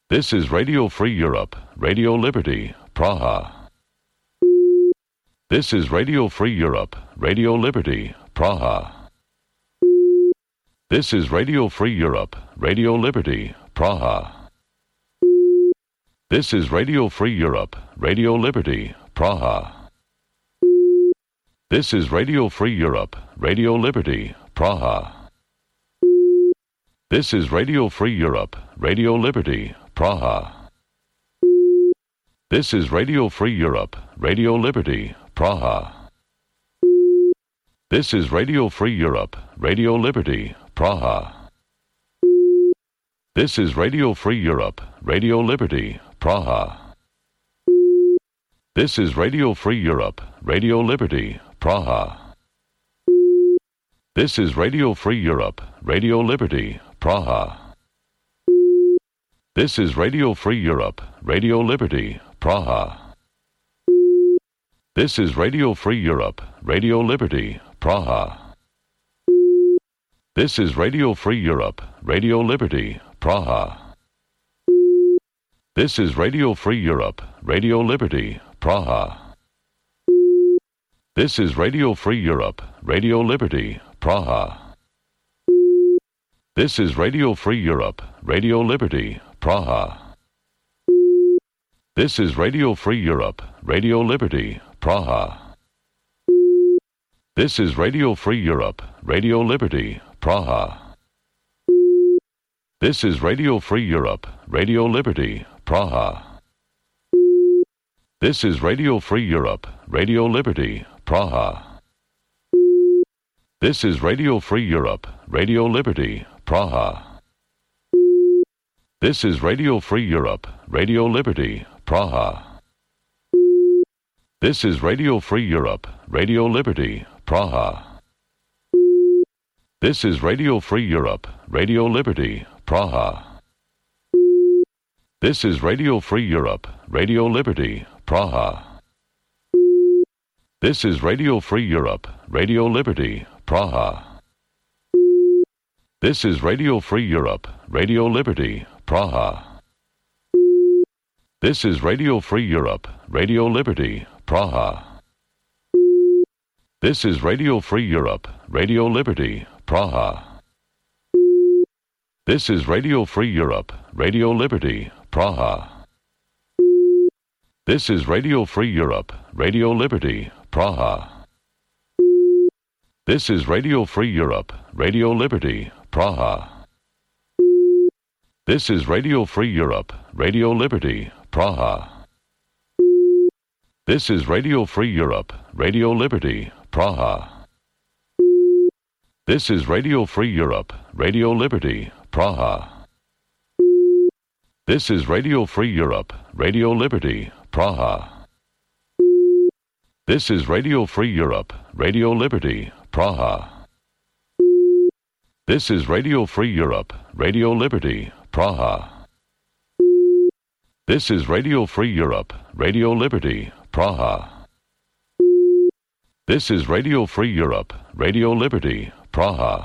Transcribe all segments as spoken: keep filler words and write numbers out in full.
This is Radio Free Europe, Radio Liberty, Praha. This is Radio Free Europe, Radio Liberty, Praha. This is Radio Free Europe, Radio Liberty, Praha. This is Radio Free Europe, Radio Liberty, Praha. This is Radio Free Europe, Radio Liberty, Praha. This is Radio Free Europe, Radio Liberty, Praha. This is Radio Free Europe, Radio Liberty, Praha. This is Radio Free Europe, Radio Liberty, Praha. This is Radio Free Europe, Radio Liberty, Praha. This is Radio Free Europe, Radio Liberty, Praha. This is Radio Free Europe, Radio Liberty, Praha. This is Radio Free Europe, Radio Liberty, Praha. This is Radio Free Europe, Radio Liberty, Praha. This is Radio Free Europe, Radio Liberty, Praha. This is Radio Free Europe, Radio Liberty, Praha. This is Radio Free Europe, Radio Liberty, Praha. This is Radio Free Europe, Radio Liberty, Praha. This is Radio Free Europe, Radio Liberty, Praha. This is Radio Free Europe, Radio Liberty, Praha. This is Radio Free Europe, Radio Liberty, Praha. This is Radio Free Europe, Radio Liberty, Praha. This is Radio Free Europe, Radio Liberty, Praha. This is Radio Free Europe, Radio Liberty, Praha. This is Radio Free Europe, Radio Liberty, Praha. This is Radio Free Europe, Radio Liberty, Praha. This is Radio Free Europe, Radio Liberty, Praha. This is Radio Free Europe, Radio Liberty, Praha. This is Radio Free Europe, Radio Liberty, Praha. This is Radio Free Europe, Radio Liberty, Praha. This is Radio Free Europe, Radio Liberty, Praha. This is Radio Free Europe, Radio Liberty, Praha. This is Radio Free Europe, Radio Liberty, Praha. This is Radio Free Europe, Radio Liberty, Praha. This is Radio Free Europe, Radio Liberty, Praha. This is Radio Free Europe, Radio Liberty, Praha. This is Radio Free Europe, Radio Liberty, Praha. This is Radio Free Europe, Radio Liberty, Praha. This is Radio Free Europe, Radio Liberty, Praha. This is Radio Free Europe, Radio Liberty, Praha. This is Radio Free Europe, Radio Liberty, Praha. This is Radio Free Europe, Radio Liberty, Praha.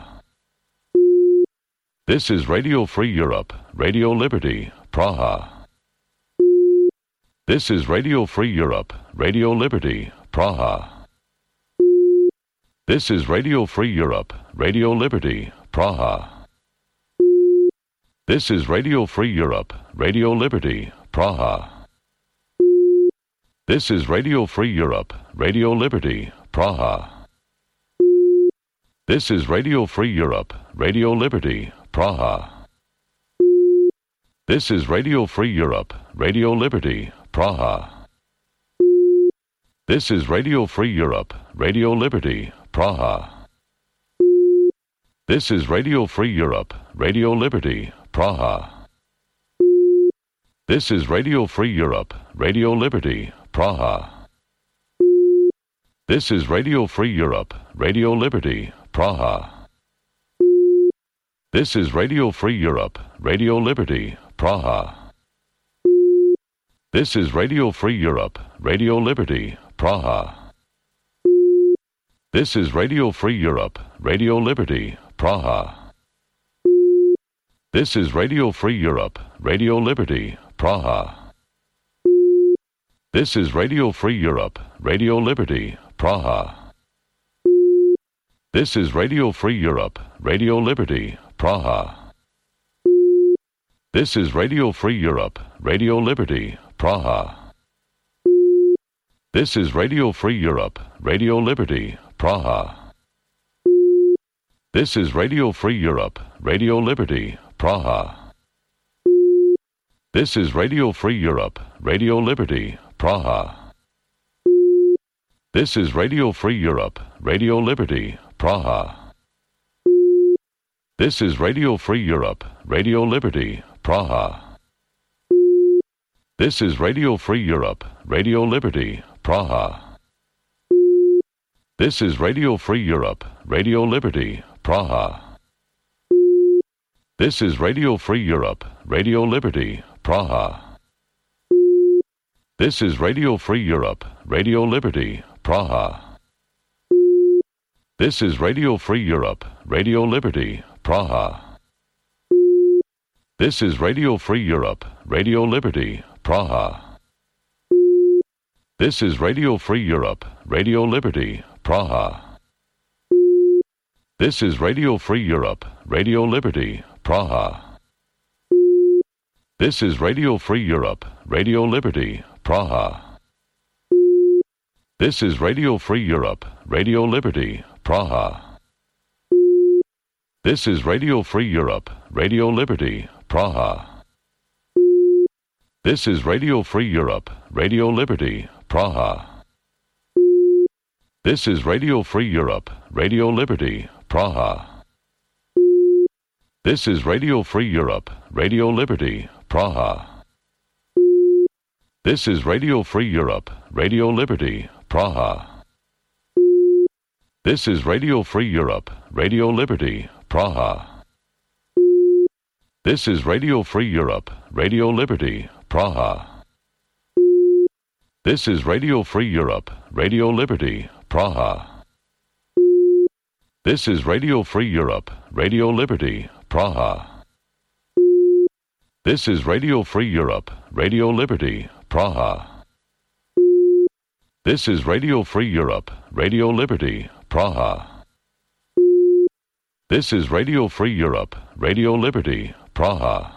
This is Radio Free Europe, Radio Liberty, Praha. This is Radio Free Europe, Radio Liberty, Praha. This is Radio Free Europe, Radio Liberty, Praha. This is Radio Free Europe, Radio Liberty, Praha. This is Radio Free Europe, Radio Liberty, Praha. This is Radio Free Europe, Radio Liberty, Praha. This is Radio Free Europe, Radio Liberty, Praha. This is Radio Free Europe, Radio Liberty, Praha. This is Radio Free Europe, Radio Liberty, Praha. This is Radio Free Europe, Radio Liberty, Praha. This is Radio Free Europe, Radio Liberty, Praha. This is Radio Free Europe, Radio Liberty, Praha. This is Radio Free Europe, Radio Liberty, Praha. This is Radio Free Europe, Radio Liberty, Praha. This is Radio Free Europe, Radio Liberty, Praha. This is Radio Free Europe, Radio Liberty, Praha. This is Radio Free Europe, Radio Liberty, Praha. This is Radio Free Europe, Radio Liberty, Praha. This is Radio Free Europe, Radio Liberty, Praha. This is Radio Free Europe, Radio Liberty, Praha. This is Radio Free Europe, Radio Liberty, Praha. This is Radio Free Europe, Radio Liberty, Praha. This is Radio Free Europe, Radio Liberty, Praha. This is Radio Free Europe, Radio Liberty, Praha. This is Radio Free Europe, Radio Liberty, Praha. This is Radio Free Europe, Radio Liberty, Praha. This is Radio Free Europe, Radio Liberty, Praha. This is Radio Free Europe, Radio Liberty, Praha. This is Radio Free Europe, Radio Liberty, Praha. This is Radio Free Europe, Radio Liberty, Praha. This is Radio Free Europe, Radio Liberty, Praha. This is Radio Free Europe, Radio Liberty, Praha. This is Radio Free Europe, Radio Liberty, Praha. This is Radio Free Europe, Radio Liberty, Praha. This is Radio Free Europe, Radio Liberty, Praha. This is Radio Free Europe, Radio Liberty, Praha. This is Radio Free Europe, Radio Liberty, Praha. This is Radio Free Europe, Radio Liberty, Praha. This is Radio Free Europe, Radio Liberty, Praha. This is Radio Free Europe, Radio Liberty, Praha. This is Radio Free Europe, Radio Liberty, Praha. This is Radio Free Europe, Radio Liberty, Praha. This is Radio Free Europe, Radio Liberty, Praha. This is Radio Free Europe, Radio Liberty, Praha. This is Radio Free Europe, Radio Liberty, Praha.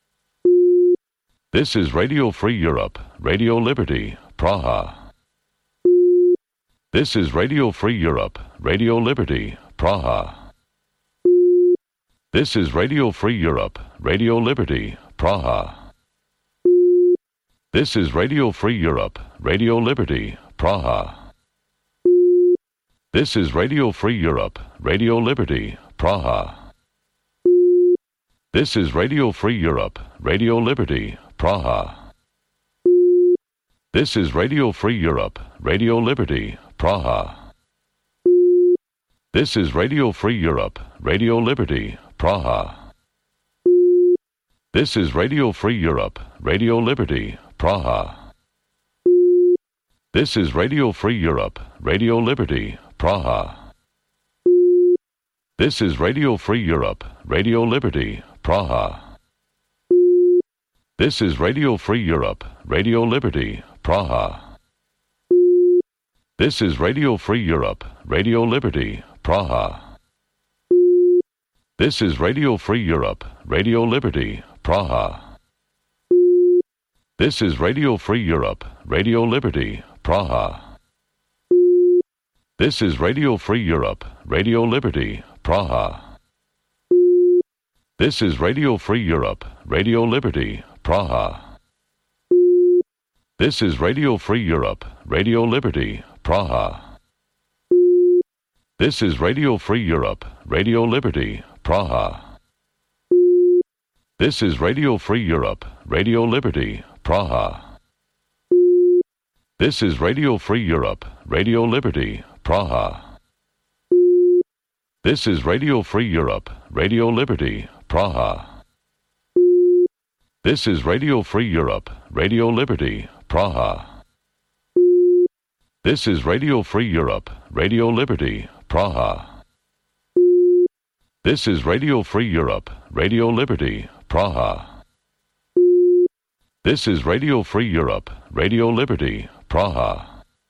This is Radio Free Europe, Radio Liberty, Praha. This is Radio Free Europe, Radio Liberty, Praha. This is Radio Free Europe, Radio Liberty, Praha. This is Radio Free Europe, Radio Liberty, Praha. This is Radio Free Europe, Radio Liberty, Praha. This is Radio Free Europe, Radio Liberty, Praha. This is Radio Free Europe, Radio Liberty, Praha. This is Radio Free Europe, Radio Liberty, Praha. This is Radio Free Europe, Radio Liberty, Praha. This is Radio Free Europe, Radio Liberty, Praha. This is Radio Free Europe, Radio Liberty, Praha. This is Radio Free Europe, Radio Liberty, Praha. This is Radio Free Europe, Radio Liberty, Praha. This is Radio Free Europe, Radio Liberty, Praha. This is Radio Free Europe, Radio Liberty, Praha. This is Radio Free Europe, Radio Liberty, Praha. This is Radio Free Europe, Radio Liberty, Praha. This is Radio Free Europe, Radio Liberty, Praha. This is Radio Free Europe, Radio Liberty, Praha. This is Radio Free Europe, Radio Liberty, Praha. This is Radio Free Europe, Radio Liberty, Praha. This is Radio Free Europe, Radio Liberty, Praha. This is Radio Free Europe, Radio Liberty, Praha. This is Radio Free Europe, Radio Liberty, Praha. This is Radio Free Europe, Radio Liberty, Praha. This is Radio Free Europe, Radio Liberty, Praha.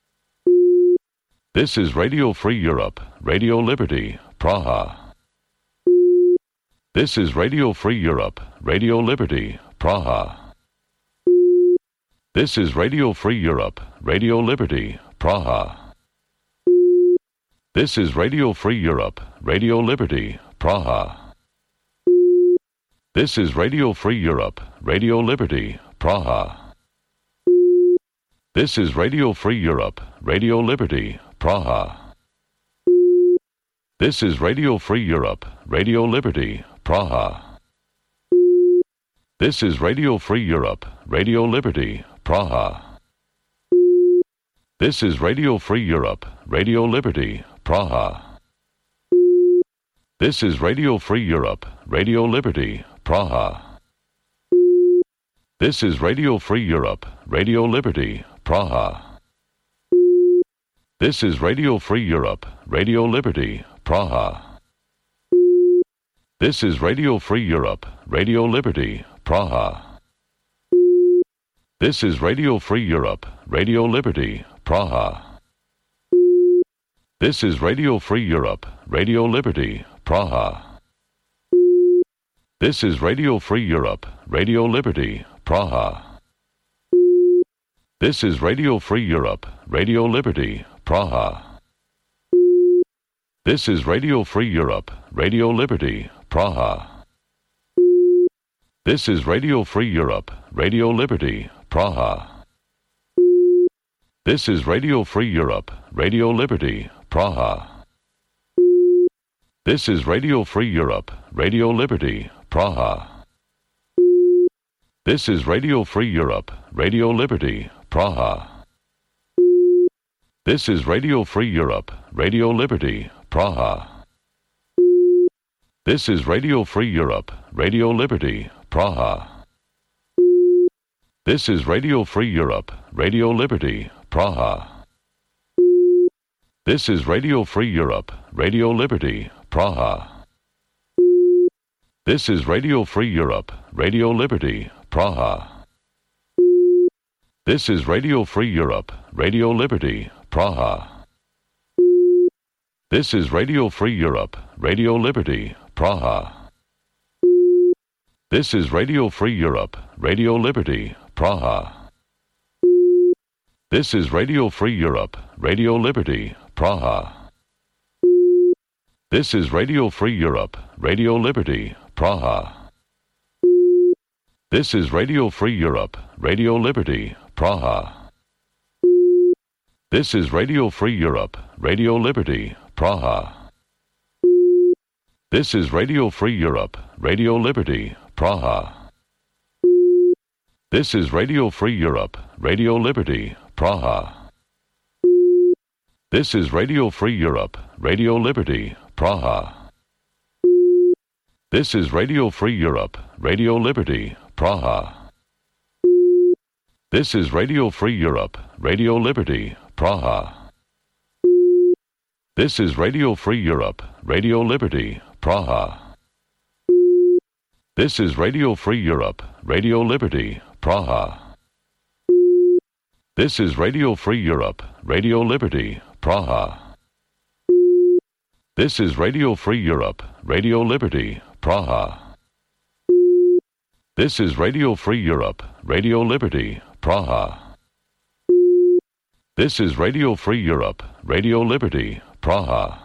This is Radio Free Europe, Radio Liberty, Praha. This is Radio Free Europe, Radio Liberty, Praha. This is Radio Free Europe, Radio Liberty, Praha. This is Radio Free Europe, Radio Liberty, Praha. This is Radio Free Europe, Radio Liberty, Praha. This is Radio Free Europe, Radio Liberty, Praha. This is Radio Free Europe, Radio Liberty, Praha. This is Radio Free Europe, Radio Liberty, Praha. This is Radio Free Europe, Radio Liberty, Praha. This is Radio Free Europe, Radio Liberty, Praha. This is Radio Free Europe, Radio Liberty, Praha. This is Radio Free Europe, Radio Liberty, Praha. This is Radio Free Europe, Radio Liberty, Praha. This is Radio Free Europe, Radio Liberty, Praha. This is Radio Free Europe, Radio Liberty, Praha. This is Radio Free Europe, Radio Liberty, Praha. This is Radio Free Europe, Radio Liberty, Praha. This is Radio Free Europe, Radio Liberty, Praha. This is Radio Free Europe, Radio Liberty, Praha. This is Radio Free Europe, Radio Liberty, Praha. This is Radio Free Europe, Radio Liberty, Praha. This is Radio Free Europe, Radio Liberty, Praha. This is Radio Free Europe, Radio Liberty, Praha. This is Radio Free Europe, Radio Liberty, Praha. This is Radio Free Europe, Radio Liberty, Praha. This is Radio Free Europe, Radio Liberty, Praha. This is Radio Free Europe, Radio Liberty, Praha. This is Radio Free Europe, Radio Liberty, Praha. This is Radio Free Europe, Radio Liberty, Praha. This is Radio Free Europe, Radio Liberty, Praha. This is Radio Free Europe, Radio Liberty, Praha. This is Radio Free Europe, Radio Liberty, Praha. This is Radio Free Europe, Radio Liberty, Praha. This is Radio Free Europe, Radio Liberty, Praha. This is Radio Free Europe, Radio Liberty, Praha. This is Radio Free Europe, Radio Liberty, Praha. This is Radio Free Europe, Radio Liberty, Praha. This is Radio Free Europe, Radio Liberty, Praha. This is Radio Free Europe, Radio Liberty, Praha. This is Radio Free Europe, Radio Liberty, Praha. This is Radio Free Europe, Radio Liberty, Praha. This is Radio Free Europe, Radio Liberty, Praha. This is Radio Free Europe, Radio Liberty, Praha. This is Radio Free Europe, Radio Liberty, Praha. This is Radio Free Europe, Radio Liberty, Praha.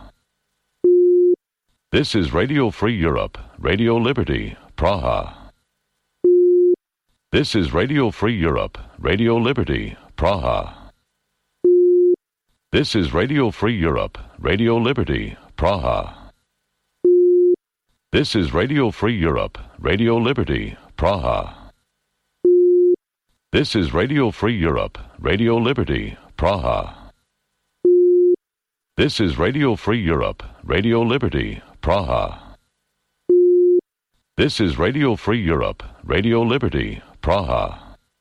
This is Radio Free Europe, Radio Liberty, Praha. This is Radio Free Europe, Radio Liberty, Praha. This is Radio Free Europe, Radio Liberty, Praha. This is Radio Free Europe, Radio Liberty, Praha. This is Radio Free Europe, Radio Liberty, Praha. This is Radio Free Europe, Radio Liberty, Praha. This is Radio Free Europe, Radio Liberty, Praha.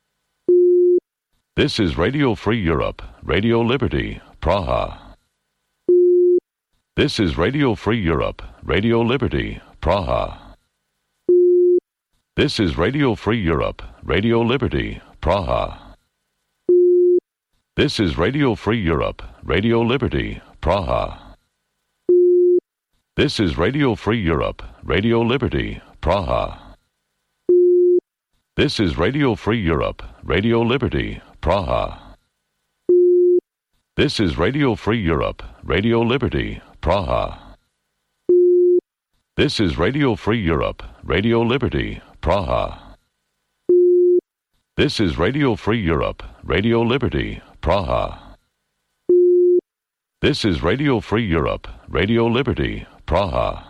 This is Radio Free Europe, Radio Liberty, Praha. This is Radio Free Europe, Radio Liberty, Praha. This is Radio Free Europe, Radio Liberty, Praha. This is Radio Free Europe, Radio Liberty, Praha. This is Radio Free Europe, Radio Liberty, Praha. This is Radio Free Europe, Radio Liberty, Praha. This is Radio Free Europe, Radio Liberty, Praha. This is Radio Free Europe, Radio Liberty, Praha. This is Radio Free Europe, Radio Liberty, Praha. This is Radio Free Europe, Radio Liberty, Praha.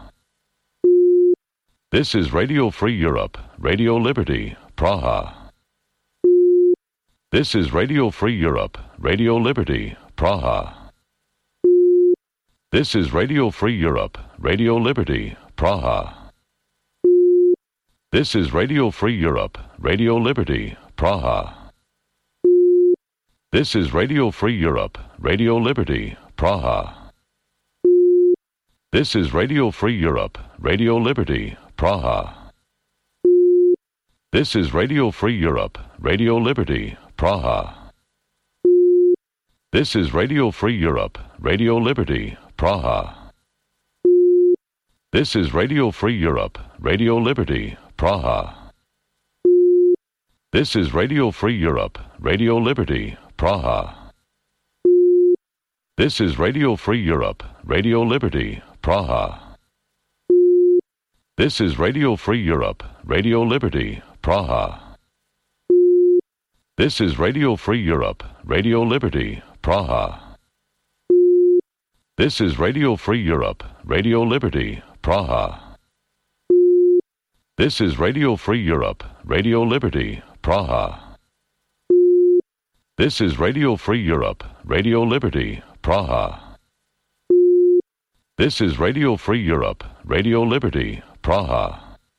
This is Radio Free Europe, Radio Liberty, Praha. This is Radio Free Europe, Radio Liberty, Praha. This is Radio Free Europe, Radio Liberty, Praha. This is Radio Free Europe, Radio Liberty, Praha. This is Radio Free Europe, Radio Liberty, Praha. This is Radio Free Europe, Radio Liberty, Praha. This is Radio Free Europe, Radio Liberty, Praha. This is Radio Free Europe, Radio Liberty, Praha. This is Radio Free Europe, Radio Liberty, Praha. This is Radio Free Europe, Radio Liberty, Praha. This is Radio Free Europe, Radio Liberty, Praha. This is Radio Free Europe, Radio Liberty, Praha. This is Radio Free Europe, Radio Liberty, Praha. This is Radio Free Europe, Radio Liberty, Praha. This is Radio Free Europe, Radio Liberty, Praha. This is Radio Free Europe, Radio Liberty, Praha. This is Radio Free Europe, Radio Liberty, Praha.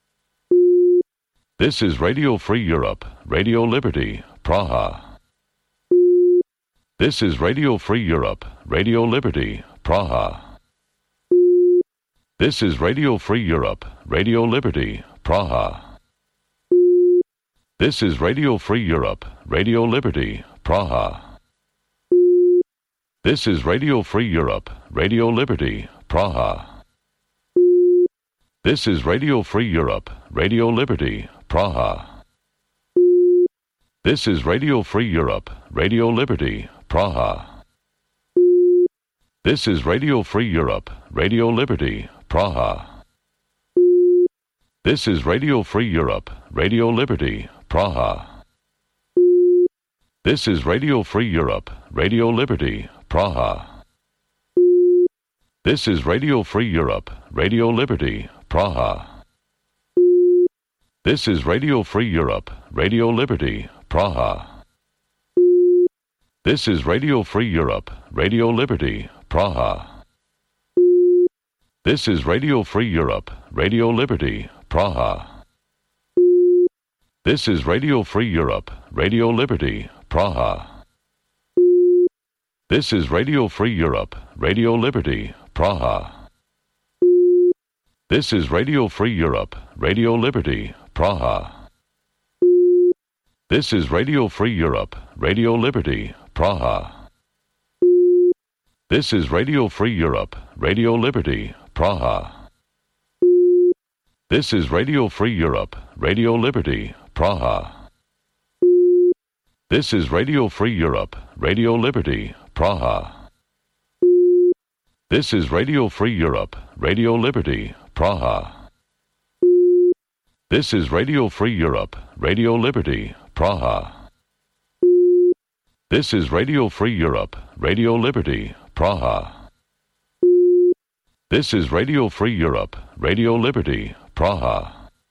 This is Radio Free Europe, Radio Liberty, Praha. This is Radio Free Europe, Radio Liberty, Praha. This is Radio Free Europe, Radio Liberty, Praha. This is Radio Free Europe, Radio Liberty, Praha. This is Radio Free Europe, Radio Liberty, Praha. This is Radio Free Europe, Radio Liberty, Praha. This is Radio Free Europe, Radio Liberty, Praha. This is Radio Free Europe, Radio Liberty, Praha. This is Radio Free Europe, Radio Liberty, Praha. This is Radio Free Europe, Radio Liberty, Praha. This is Radio Free Europe, Radio Liberty, Praha. This is Radio Free Europe, Radio Liberty, Praha. This is Radio Free Europe, Radio Liberty, Praha. This is Radio Free Europe, Radio Liberty, Praha. This is Radio Free Europe, Radio Liberty, Praha. This is Radio Free Europe, Radio Liberty, Praha. This is Radio Free Europe, Radio Liberty, Praha. This is Radio Free Europe, Radio Liberty, Praha. This is Radio Free Europe, Radio Liberty, Praha. This is Radio Free Europe, Radio Liberty, Praha. This is Radio Free Europe, Radio Liberty, Praha. This is Radio Free Europe, Radio Liberty, Praha. This is Radio Free Europe, Radio Liberty, Praha. This is Radio Free Europe, Radio Liberty, Praha. This is Radio Free Europe, Radio Liberty, Praha.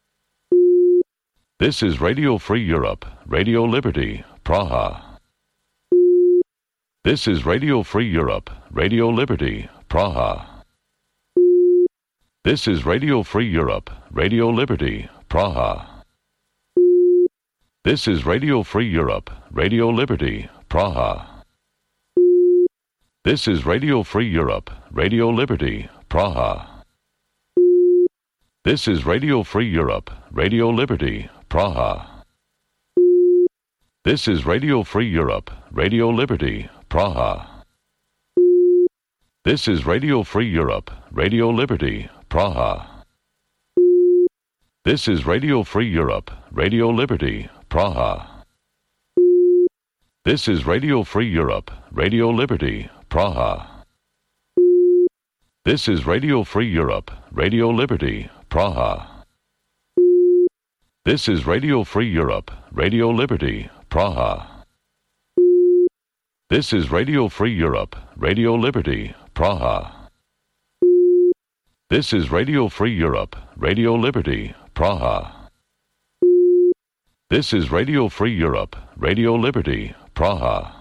This is Radio Free Europe, Radio Liberty, Praha. This is Radio Free Europe, Radio Liberty, Praha. This is Radio Free Europe, Radio Liberty, Praha. This is Radio Free Europe, Radio Liberty, Praha. This is Radio Free Europe, Radio Liberty, Praha. This is Radio Free Europe, Radio Liberty, Praha. This is Radio Free Europe, Radio Liberty, Praha. This is Radio Free Europe, Radio Liberty, Praha. This is Radio Free Europe, Radio Liberty, Praha. This is Radio Free Europe, Radio Liberty, Praha. This is Radio Free Europe, Radio Liberty, Praha. This is Radio Free Europe, Radio Liberty, Praha. This is Radio Free Europe, Radio Liberty, Praha. This is Radio Free Europe, Radio Liberty, Praha. This is Radio Free Europe, Radio Liberty, Praha.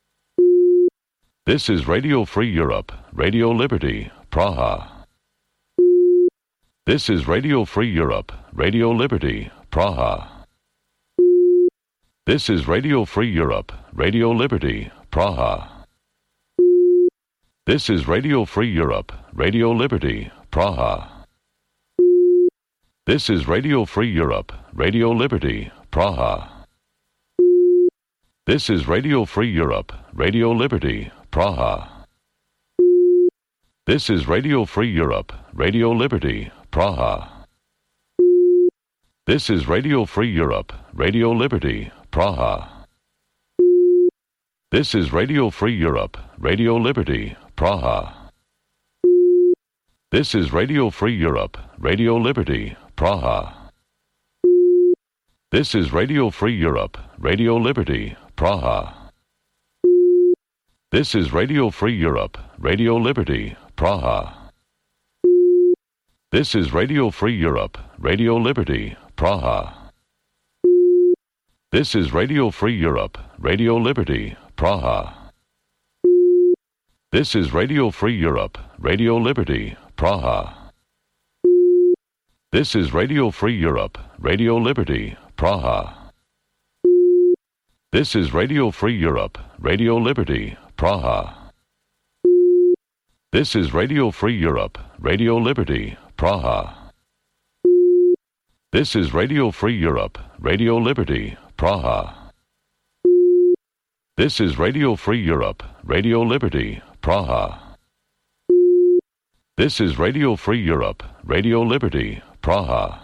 This is Radio Free Europe, Radio Liberty, Praha. This is Radio Free Europe, Radio Liberty, Praha. This is Radio Free Europe, Radio Liberty, Praha. This is Radio Free Europe, Radio Liberty, Praha. This is Radio Free Europe, Radio Liberty, Praha. This is Radio Free Europe, Radio Liberty, Praha. This is Radio Free Europe, Radio Liberty, Praha. This is Radio Free Europe, Radio Liberty, Praha. This is Radio Free Europe, Radio Liberty, Praha. This is Radio Free Europe, Radio Liberty, Praha. This is Radio Free Europe, Radio Liberty, Praha. This is Radio Free Europe, Radio Liberty, Praha. This is Radio Free Europe, Radio Liberty, Praha. This is Radio Free Europe, Radio Liberty, Praha. This is Radio Free Europe, Radio Liberty, Praha. This is Radio Free Europe, Radio Liberty, Praha. This is Radio Free Europe, Radio Liberty, Praha. This is Radio Free Europe, Radio Liberty, Praha. This is Radio Free Europe, Radio Liberty, Praha. This is Radio Free Europe, Radio Liberty, Praha. This is Radio Free Europe, Radio Liberty, Praha.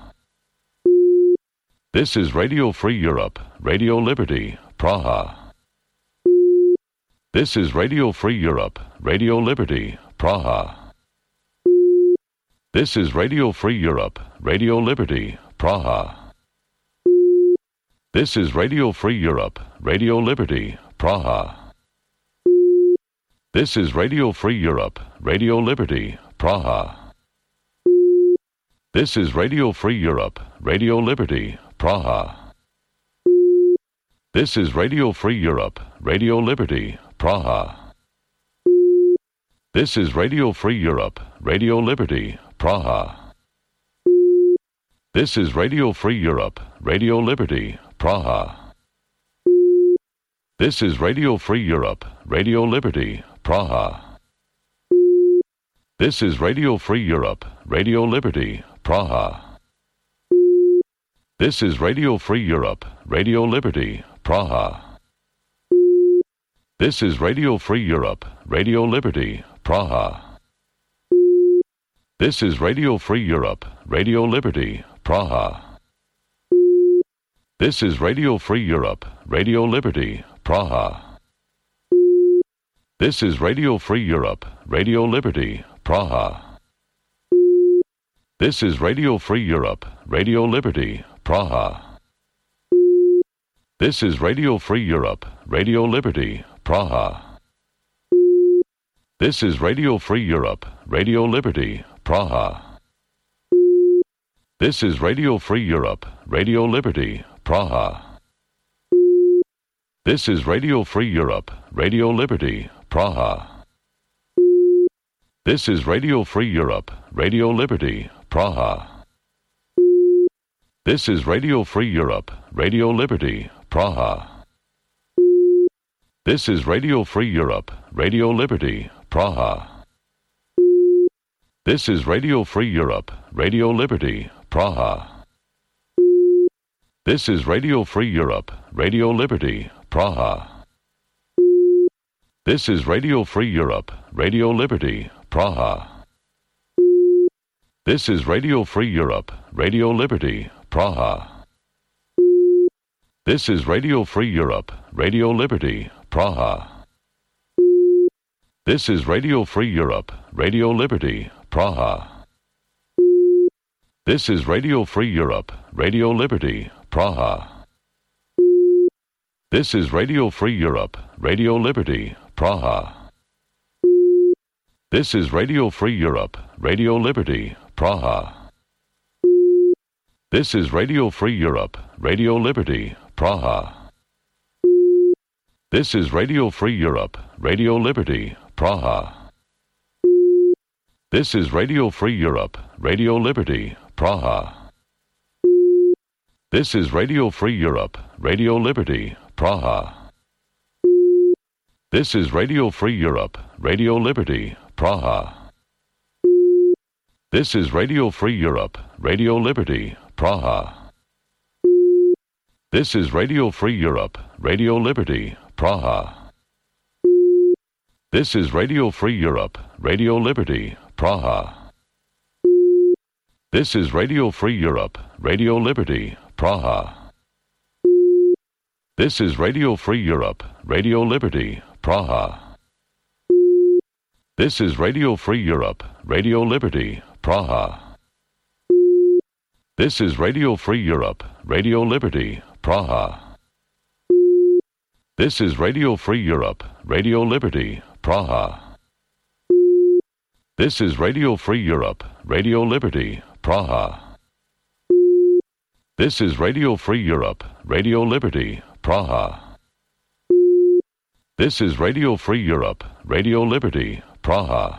This is Radio Free Europe, Radio Liberty, Praha. This is Radio Free Europe, Radio Liberty, Praha. This is Radio Free Europe, Radio Liberty, Praha. This is Radio Free Europe, Radio Liberty, Praha. This is Radio Free Europe, Radio Liberty, Praha. This is Radio Free Europe, Radio Liberty, Praha. This is Radio Free Europe, Radio Liberty, Praha. This is Radio Free Europe, Radio Liberty, Praha. This is Radio Free Europe, Radio Liberty, Praha. This is Radio Free Europe, Radio Liberty, Praha. This is Radio Free Europe, Radio Liberty, Praha. This is Radio Free Europe, Radio Liberty, Praha. This is Radio Free Europe, Radio Liberty, Praha. This is Radio Free Europe, Radio Liberty, Praha. This is Radio Free Europe, Radio Liberty, Praha. This is Radio Free Europe, Radio Liberty, Praha. This is Radio Free Europe, Radio Liberty, Praha. This is Radio Free Europe, Radio Liberty, Praha. This is Radio Free Europe, Radio Liberty, Praha. This is Radio Free Europe, Radio Liberty, Praha. This is Radio Free Europe, Radio Liberty, Praha. This is Radio Free Europe, Radio Liberty, Praha. This is Radio Free Europe, Radio Liberty, Praha. This is Radio Free Europe, Radio Liberty, Praha. This is Radio Free Europe, Radio Liberty, Praha. This is Radio Free Europe, Radio Liberty, Praha. This is Radio Free Europe, Radio Liberty, Praha. This is Radio Free Europe, Radio Liberty, Praha. This is Radio Free Europe, Radio Liberty, Praha. This is Radio Free Europe, Radio Liberty, Praha. This is Radio Free Europe, Radio Liberty, Praha. This is Radio Free Europe, Radio Liberty, Praha. This is Radio Free Europe, Radio Liberty, Praha. This is Radio Free Europe, Radio Liberty, Praha. This is Radio Free Europe, Radio Liberty, Praha. This is Radio Free Europe, Radio Liberty, Praha. This is Radio Free Europe, Radio Liberty, Praha. This is Radio Free Europe, Radio Liberty, Praha. This is Radio Free Europe, Radio Liberty, Praha. This is Radio Free Europe, Radio Liberty, Praha. This is Radio Free Europe, Radio Liberty, Praha. This is Radio Free Europe, Radio Liberty, Praha. This is Radio Free Europe, Radio Liberty, Praha. This is Radio Free Europe, Radio Liberty, Praha. This is Radio Free Europe, Radio Liberty, Praha. This is Radio Free Europe, Radio Liberty, Praha. This is Radio Free Europe, Radio Liberty, Praha. This is Radio Free Europe, Radio Liberty, Praha. This is Radio Free Europe, Radio Liberty, Praha.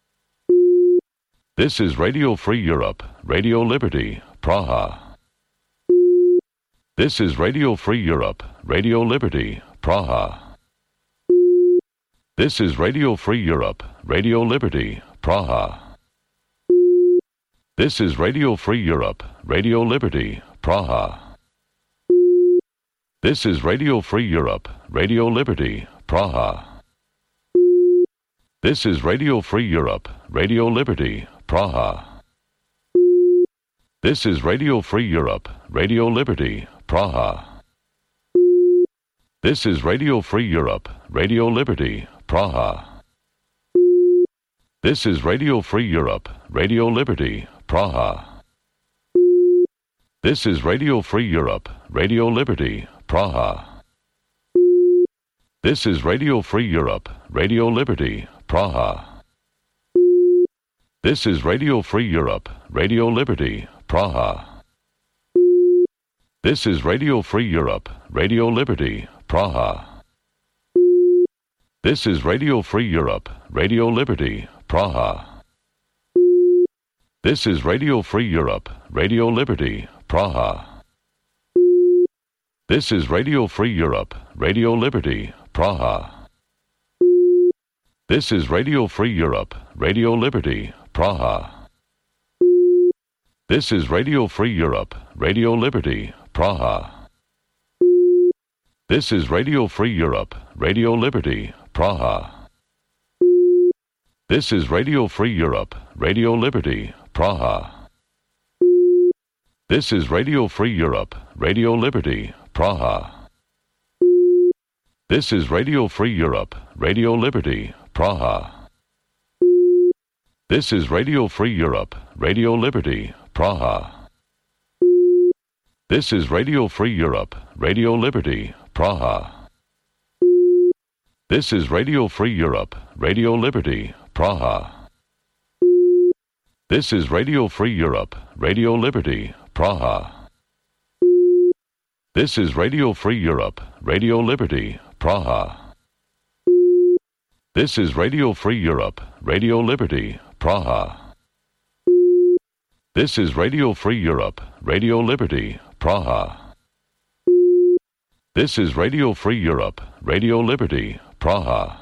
This is Radio Free Europe, Radio Liberty, Praha. This is Radio Free Europe, Radio Liberty, Praha. This is Radio Free Europe, Radio Liberty, Praha. This is Radio Free Europe, Radio Liberty, Praha. This is Radio Free Europe, Radio Liberty, Praha. This is Radio Free Europe, Radio Liberty, Praha. This is Radio Free Europe, Radio Liberty, Praha. This is Radio Free Europe, Radio Liberty, Praha. This is Radio Free Europe, Radio Liberty, Praha. This is Radio Free Europe, Radio Liberty, Praha. This is Radio Free Europe, Radio Liberty, Praha. This is Radio Free Europe, Radio Liberty, Praha. This is Radio Free Europe, Radio Liberty, Praha. This is Radio Free Europe, Radio Liberty, Praha. This is Radio Free Europe, Radio Liberty, Praha. This is Radio Free Europe, Radio Liberty, Praha. This is Radio Free Europe, Radio Liberty, Praha. This is Radio Free Europe, Radio Liberty, Praha. This is Radio Free Europe, Radio Liberty, Praha. This is Radio Free Europe, Radio Liberty, Praha. This is Radio Free Europe, Radio Liberty, Praha. This is Radio Free Europe, Radio Liberty, Praha. This is Radio Free Europe, Radio Liberty, Praha. This is Radio Free Europe, Radio Liberty, Praha. This is Radio Free Europe, Radio Liberty, Praha. This is Radio Free Europe, Radio Liberty, Praha. This is Radio Free Europe, Radio Liberty, Praha. This is Radio Free Europe, Radio Liberty, Praha. This is Radio Free Europe, Radio Liberty, Praha. This is Radio Free Europe, Radio Liberty, Praha.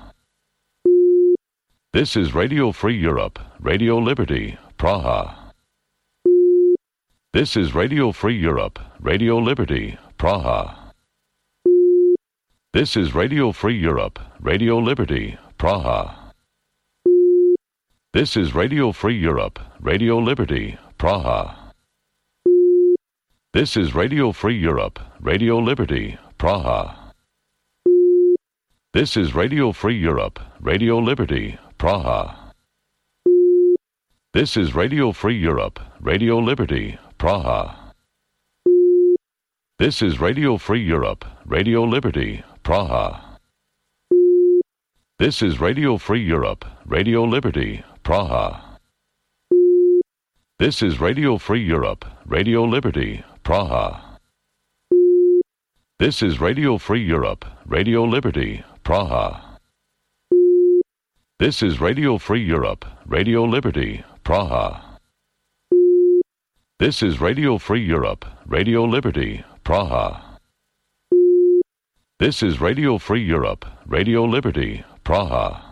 This is Radio Free Europe, Radio Liberty, Praha. This is Radio Free Europe, Radio Liberty, Praha. This is Radio Free Europe, Radio Liberty, Praha. This is Radio Free Europe, Radio Liberty, Praha. This is Radio Free Europe, Radio Liberty, Praha. This is Radio Free Europe, Radio Liberty, Praha. This is Radio Free Europe, Radio Liberty, Praha. This is Radio Free Europe, Radio Liberty, Praha. This is Radio Free Europe, Radio Liberty, Praha. This is Radio Free Europe, Radio Liberty, Praha. This is Radio Free Europe, Radio Liberty, Praha. This is Radio Free Europe, Radio Liberty, Praha. This is Radio Free Europe, Radio Liberty, Praha. This is Radio Free Europe, Radio Liberty, Praha.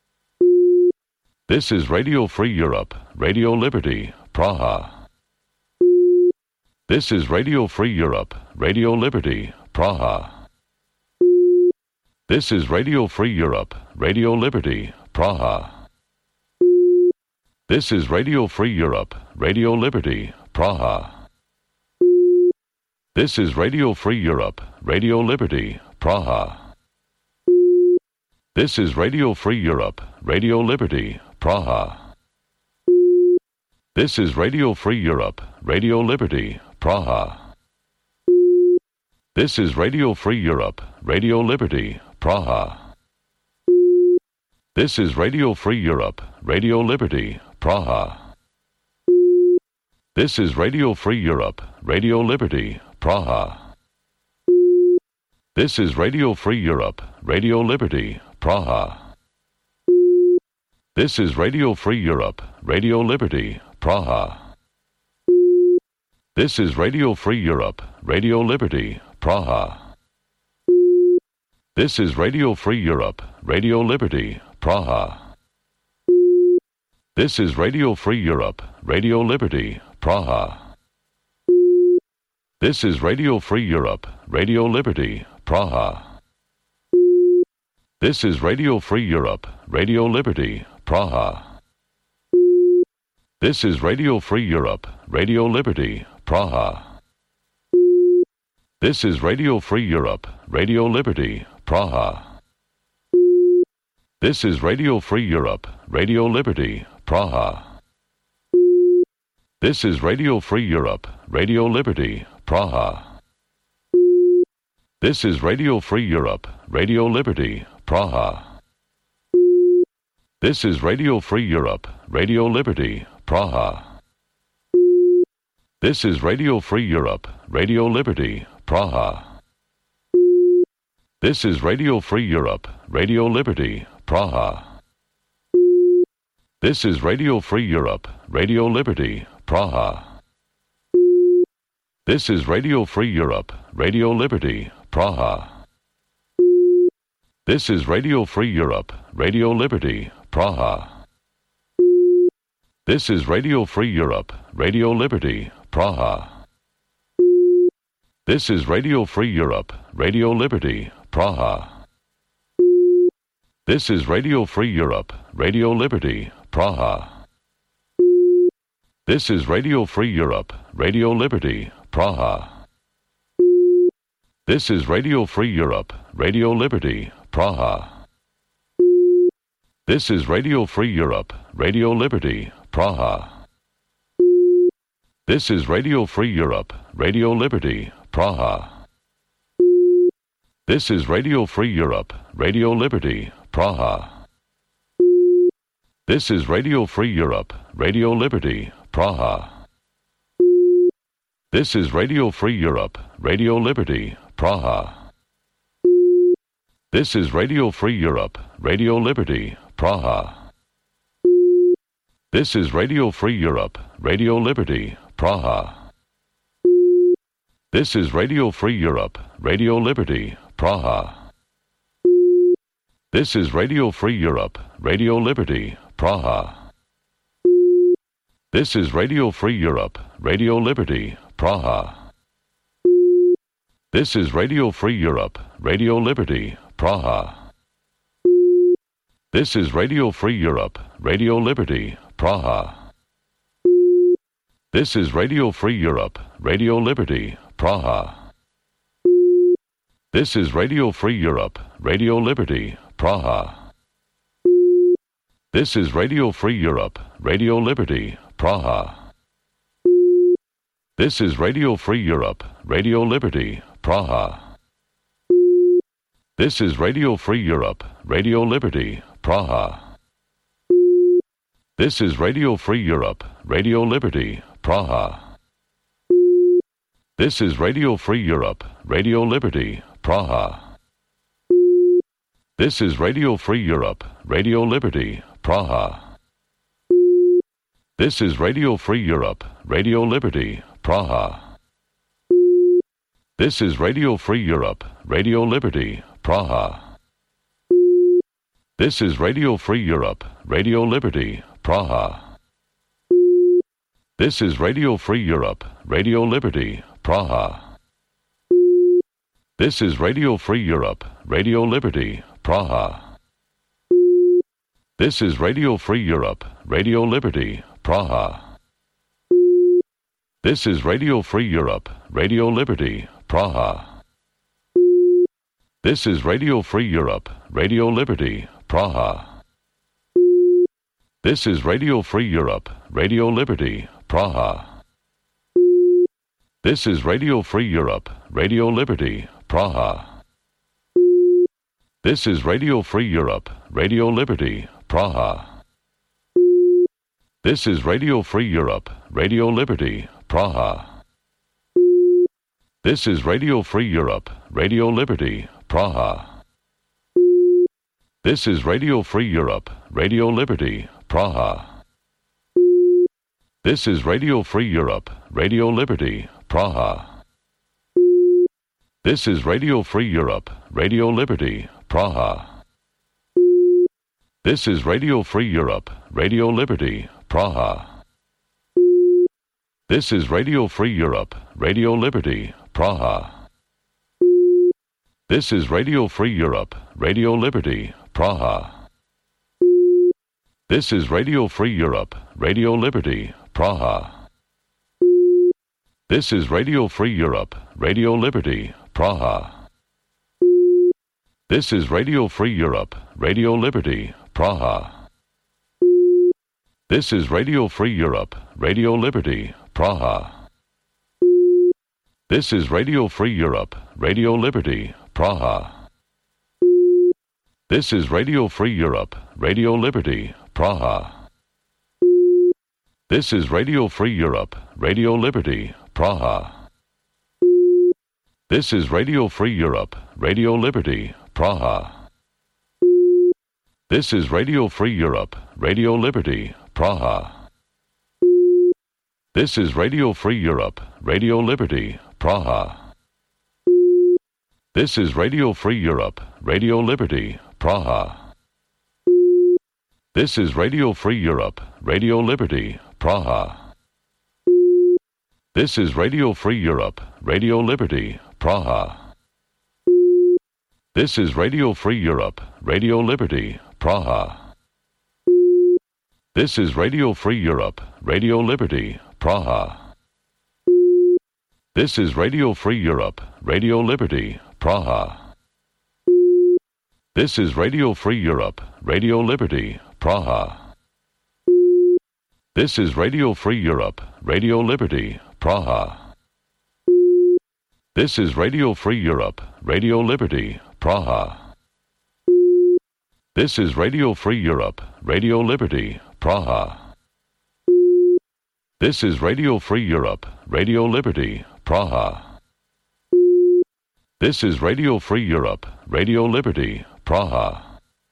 This is Radio Free Europe, Radio Liberty, Praha. This is Radio Free Europe, Radio Liberty, Praha. This is Radio Free Europe, Radio Liberty, Praha. This is Radio Free Europe, Radio Liberty, Praha. This is Radio Free Europe, Radio Liberty, Praha. This is Radio Free Europe, Radio Liberty, Praha. This is Radio Free Europe, Radio Liberty, Praha. This is Radio Free Europe, Radio Liberty, Praha. This is Radio Free Europe, Radio Liberty, Praha. This is Radio Free Europe, Radio Liberty, Praha. This is Radio Free Europe, Radio Liberty, Praha. This is Radio Free Europe, Radio Liberty, Praha. This is Radio Free Europe, Radio Liberty, Praha. This is Radio Free Europe, Radio Liberty, Praha. This is Radio Free Europe, Radio Liberty, Praha. This is Radio Free Europe, Radio Liberty, Praha. This is Radio Free Europe, Radio Liberty, Praha. This is Radio Free Europe, Radio Liberty, Praha. This is Radio Free Europe, Radio Liberty, Praha. This is Radio Free Europe, Radio Liberty, Praha. This is Radio Free Europe, Radio Liberty, Praha. This is Radio Free Europe, Radio Liberty, Praha. This is Radio Free Europe, Radio Liberty, Praha. This is Radio Free Europe, Radio Liberty, Praha. This is Radio Free Europe, Radio Liberty, Praha. This is Radio Free Europe, Radio Liberty, Praha. This is Radio Free Europe, Radio Liberty, Praha. This is Radio Free Europe, Radio Liberty, Praha. This is Radio Free Europe, Radio Liberty, Praha. This is Radio Free Europe, Radio Liberty, Praha. This is Radio Free Europe, Radio Liberty, Praha. This is Radio Free Europe, Radio Liberty, Praha. This is Radio Free Europe, Radio Liberty, Praha. This is Radio Free Europe, Radio Liberty, Praha. This is Radio Free Europe, Radio Liberty, Praha. This is Radio Free Europe, Radio Liberty, Praha. This is Radio Free Europe, Radio Liberty, Praha. This is Radio Free Europe, Radio Liberty, Praha. This is Radio Free Europe, Radio Liberty, Praha. This is Radio Free Europe, Radio Liberty, Praha. This is Radio Free Europe, Radio Liberty, Praha. This is Radio Free Europe, Radio Liberty, Praha. This is Radio Free Europe, Radio Liberty, Praha. This is Radio Free Europe, Radio Liberty, Praha. This is Radio Free Europe, Radio Liberty, Praha. This is Radio Free Europe, Radio Liberty, Praha. This is Radio Free Europe, Radio Liberty, Praha. This is Radio Free Europe, Radio Liberty, Praha. This is Radio Free Europe, Radio Liberty, Praha. This is Radio Free Europe, Radio Liberty, Praha. This is Radio Free Europe, Radio Liberty, Praha. This is Radio Free Europe, Radio Liberty, Praha. This is Radio Free Europe, Radio Liberty, Praha. This is Radio Free Europe, Radio Liberty, Praha. This is Radio Free Europe, Radio Liberty, Praha. This is Radio Free Europe, Radio Liberty, Praha. This is Radio Free Europe, Radio Liberty, Praha. This is Radio Free Europe, Radio Liberty, Praha. This is Radio Free Europe, Radio Liberty, Praha. This is Radio Free Europe, Radio Liberty, Praha. This is Radio Free Europe, Radio Liberty, Praha. This is Radio Free Europe, Radio Liberty, Praha. This is Radio Free Europe, Radio Liberty, Praha. This is Radio Free Europe, Radio Liberty, Praha. This is Radio Free Europe, Radio Liberty, Praha. This is Radio Free Europe, Radio Liberty, Praha. This is Radio Free Europe, Radio Liberty, Praha. This is Radio Free Europe, Radio Liberty, Praha. This is Radio Free Europe, Radio Liberty, Praha. This is Radio Free Europe, Radio Liberty, Praha. This is Radio Free Europe, Radio Liberty, Praha. This is Radio Free Europe, Radio Liberty, Praha. This is Radio Free Europe, Radio Liberty, Praha. This is Radio Free Europe, Radio Liberty, Praha. This is Radio Free Europe, Radio Liberty, Praha. This is Radio Free Europe, Radio Liberty, Praha. This is Radio Free Europe, Radio Liberty, Praha. This is Radio Free Europe, Radio Liberty, Praha. This is Radio Free Europe, Radio Liberty, Praha. This is Radio Free Europe, Radio Liberty, Praha. This is Radio Free Europe, Radio Liberty, Praha. This is Radio Free Europe, Radio Liberty, Praha. This is Radio Free Europe, Radio Liberty, Praha. This is Radio Free Europe, Radio Liberty, Praha. This is Radio Free Europe, Radio Liberty, Praha. This is Radio Free Europe, Radio Liberty, Praha. This is Radio Free Europe, Radio Liberty, Praha. This is Radio Free Europe, Radio Liberty, Praha. This is Radio Free Europe, Radio Liberty, Praha. This is Radio Free Europe, Radio Liberty, Praha. This is Radio Free Europe, Radio Liberty, Praha. This is Radio Free Europe, Radio Liberty, Praha. This is Radio Free Europe, Radio Liberty, Praha. This is Radio Free Europe, Radio Liberty, Praha.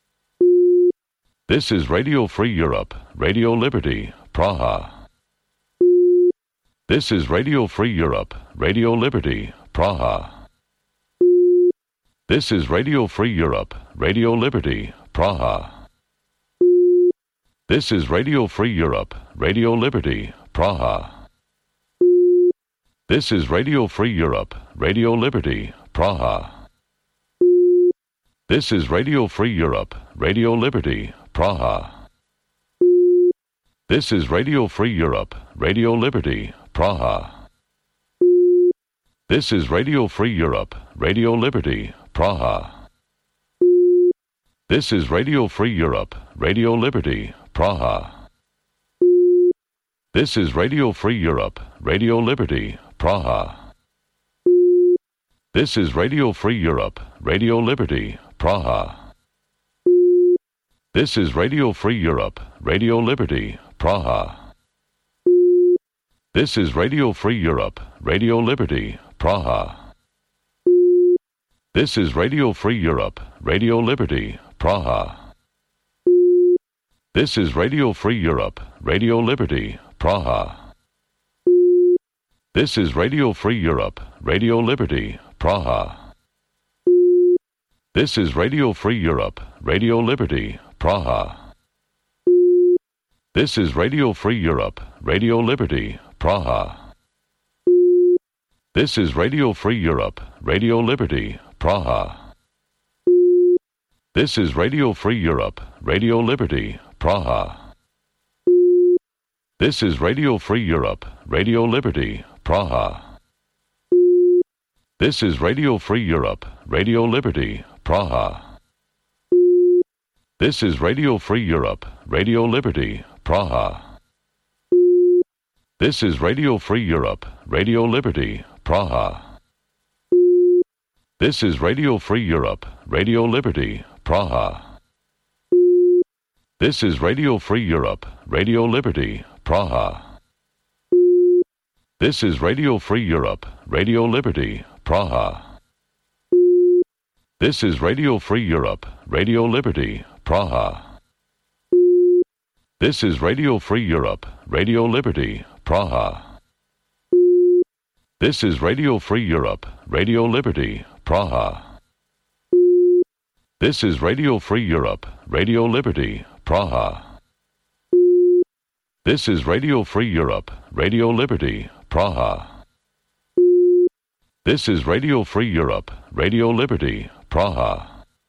This is Radio Free Europe, Radio Liberty, Praha. This is Radio Free Europe, Radio Liberty, Praha. This is Radio Free Europe, Radio Liberty, Praha. This is Radio Free Europe, Radio Liberty, Praha. This is Radio Free Europe, Radio Liberty, Praha. This is Radio Free Europe, Radio Liberty, Praha. This is Radio Free Europe, Radio Liberty, Praha. This is Radio Free Europe, Radio Liberty, Praha. This is Radio Free Europe, Radio Liberty, Praha. This is Radio Free Europe, Radio Liberty, Praha. This is Radio Free Europe, Radio Liberty, Praha. This is Radio Free Europe, Radio Liberty, Praha. This is Radio Free Europe, Radio Liberty, Praha. This is Radio Free Europe, Radio Liberty, Praha. This is Radio Free Europe, Radio Liberty, Praha. This is Radio Free Europe, Radio Liberty, Praha. This is Radio Free Europe, Radio Liberty, Praha. This is Radio Free Europe, Radio Liberty, Praha. This is Radio Free Europe, Radio Liberty, Praha. This is Radio Free Europe, Radio Liberty, Praha. This is Radio Free Europe, Radio Liberty, Praha. This is Radio Free Europe, Radio Liberty, Praha. This is Radio Free Europe, Radio Liberty, Praha. This is Radio Free Europe, Radio Liberty, Praha. This is Radio Free Europe, Radio Liberty, Praha. This is Radio Free Europe, Radio Liberty, Praha. This is Radio Free Europe, Radio Liberty, Praha. This is Radio Free Europe, Radio Liberty, Praha. This is Radio Free Europe, Radio Liberty, Praha. This is Radio Free Europe, Radio Liberty, Praha. This is Radio Free Europe, Radio Liberty, Praha. This is Radio Free Europe, Radio Liberty, Praha. This is Radio Free Europe, Radio Liberty, Praha.